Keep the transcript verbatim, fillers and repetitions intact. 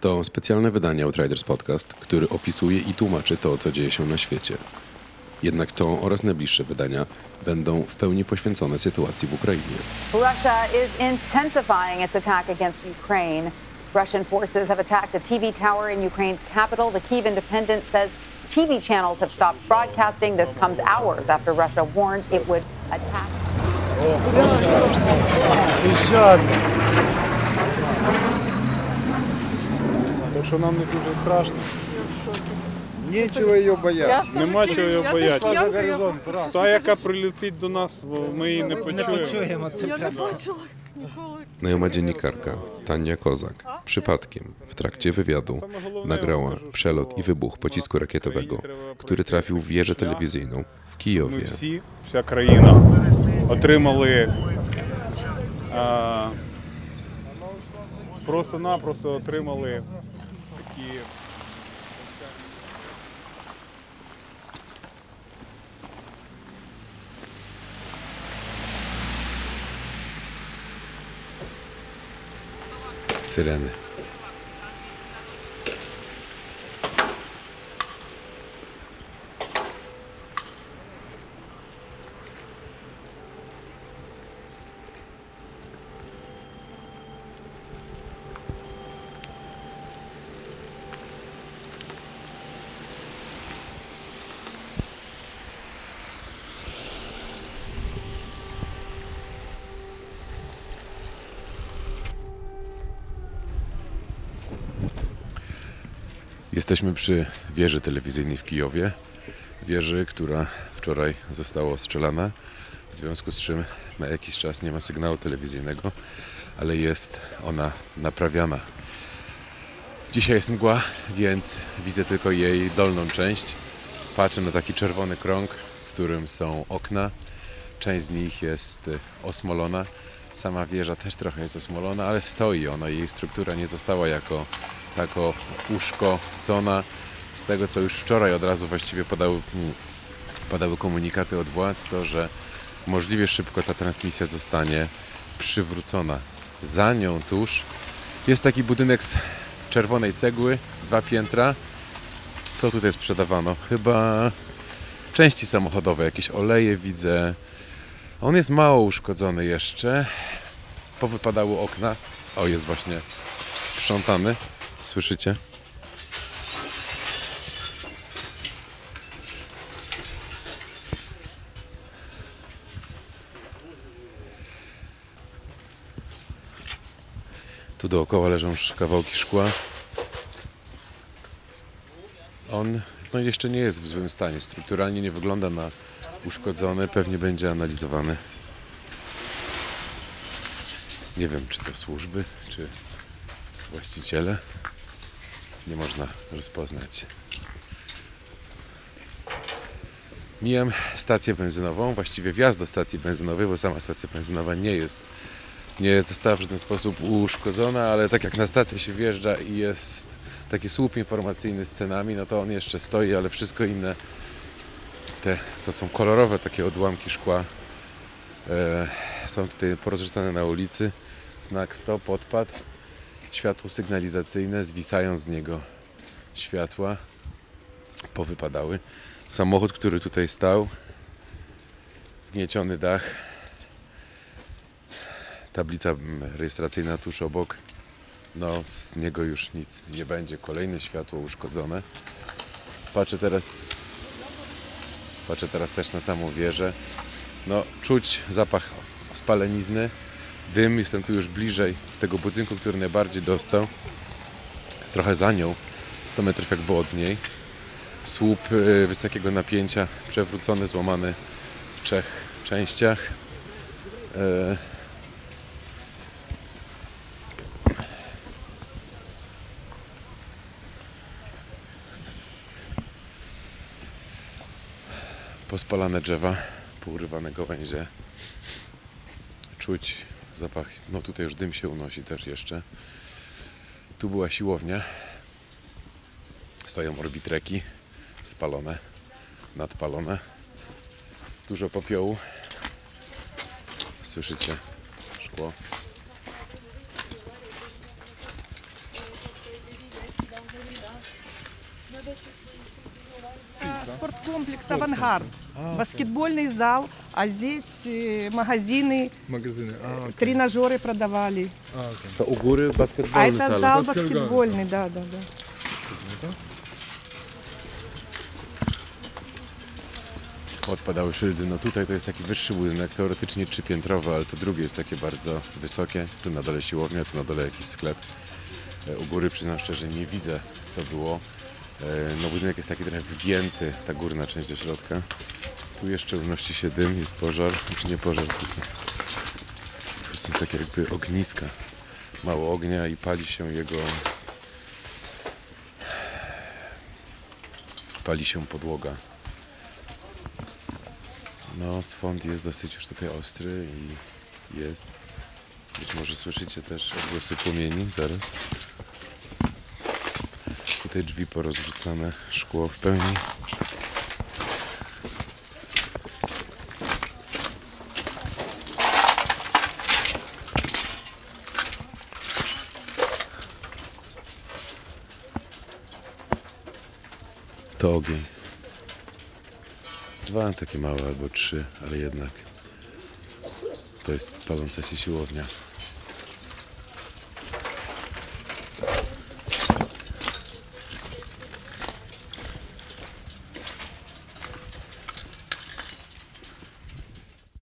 To specjalne wydanie Outriders Podcast, który opisuje i tłumaczy to, co dzieje się na świecie. Jednak to oraz najbliższe wydania będą w pełni poświęcone sytuacji w Ukrainie. Russia is intensifying its attack against Ukraine. Russian forces have attacked a T V tower in Ukraine's capital. The Kyiv Independent says T V channels have stopped broadcasting. This comes hours after Russia warned it would attack. Так що нам не дуже страшно. Нічого її боятися. Нема чого її боятися. Та, яка прилетить до нас, ми її не почуємо. Я не бачила ніколи. Znajoma dziennikarka Tania Kozak przypadkiem w trakcie wywiadu nagrała przelot i wybuch pocisku rakietowego, który trafił w wieżę telewizyjną w Ми Kijowie. всі, вся країна отримали, а, просто-напросто отримали такі... Syreny. Jesteśmy przy wieży telewizyjnej w Kijowie. Wieży, która wczoraj została ostrzelana, w związku z czym na jakiś czas nie ma sygnału telewizyjnego, ale jest ona naprawiana. Dzisiaj jest mgła, więc widzę tylko jej dolną część. Patrzę na taki czerwony krąg, w którym są okna. Część z nich jest osmolona. Sama wieża też trochę jest osmolona, ale stoi ona. Jej struktura nie została jako tako uszkodzona. Z tego, co już wczoraj od razu właściwie podały, padały komunikaty od władz, to że możliwie szybko ta transmisja zostanie przywrócona. Za nią tuż jest taki budynek z czerwonej cegły, dwa piętra. Co tutaj sprzedawano? Chyba części samochodowe, jakieś oleje widzę. On jest mało uszkodzony jeszcze. Powypadały okna. O, jest właśnie sprzątany. Słyszycie? Tu dookoła leżą kawałki szkła. On no jeszcze nie jest w złym stanie. Strukturalnie nie wygląda na uszkodzony. Pewnie będzie analizowany. Nie wiem, czy to służby, czy właściciele. Nie można rozpoznać. Mijam stację benzynową, właściwie wjazd do stacji benzynowej, bo sama stacja benzynowa nie jest, nie została w żaden sposób uszkodzona, ale tak jak na stację się wjeżdża i jest taki słup informacyjny z cenami, no to on jeszcze stoi, ale wszystko inne, te, to są kolorowe takie odłamki szkła, e, są tutaj porozrzucane na ulicy, znak stop, odpad. Światło sygnalizacyjne, zwisają z niego światła, powypadały. Samochód, który tutaj stał, wgnieciony dach, tablica rejestracyjna tuż obok, no z niego już nic nie będzie. Kolejne światło uszkodzone. Patrzę teraz, patrzę teraz też na samą wieżę. No czuć zapach spalenizny. Dym, jestem tu już bliżej tego budynku, który najbardziej dostał. Trochę za nią, sto metrów jakby od niej. Słup wysokiego napięcia, przewrócony, złamany w trzech częściach. Pospalane drzewa, pourywane gałęzie. Czuć zapach, no tutaj już dym się unosi też jeszcze. Tu była siłownia. Stoją orbitreki spalone, nadpalone. Dużo popiołu. Słyszycie szkło. Спорткомплекс «Авангард». Баскетбольный зал, а здесь э, магазины, Magazyny. A, okej. тренажеры продавали. A, okej. To u góry А basketballny это salon. зал Баскетбольный. баскетбольный, да, да, да. Odpadały szyldy. No tutaj to jest taki wyższy budynek, teoretycznie trzypiętrowy, ale to drugie jest takie bardzo wysokie. Tu na dole siłownia, tu na dole jakiś sklep. E, U góry przyznam szczerze, nie widzę co było. E, No budynek jest taki trochę wgięty, ta górna część do środka. Tu jeszcze unosi się dym, jest pożar, czy nie pożar, tylko po prostu takie jakby ogniska. Mało ognia i pali się jego... Pali się podłoga. No, swąd jest dosyć już tutaj ostry i jest. Być może słyszycie też odgłosy płomieni, zaraz. Tutaj drzwi porozrzucane, szkło w pełni. To ogień. Dwa takie małe albo trzy, ale jednak to jest paląca się siłownia.